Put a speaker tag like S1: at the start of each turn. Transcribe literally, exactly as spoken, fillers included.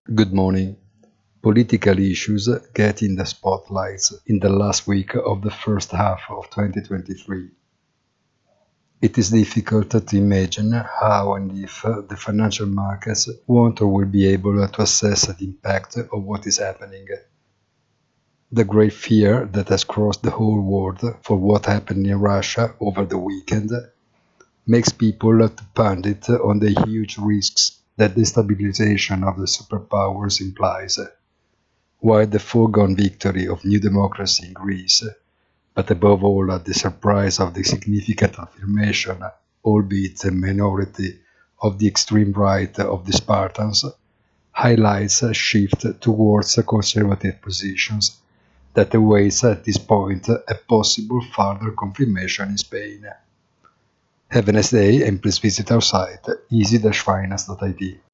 S1: Good morning. Political issues get in the spotlights in the last week of the first half of twenty twenty-three. It is difficult to imagine how and if the financial markets won't or will be able to assess the impact of what is happening. The great fear that has crossed the whole world for what happened in Russia over the weekend makes people to pundit on the huge risks that destabilization of the superpowers implies, while the foregone victory of New Democracy in Greece, but above all the surprise of the significant affirmation, albeit a minority, of the extreme right of the Spartans, highlights a shift towards conservative positions that awaits at this point a possible further confirmation in Spain. Have a nice day and please visit our site easy dash finance dot I T.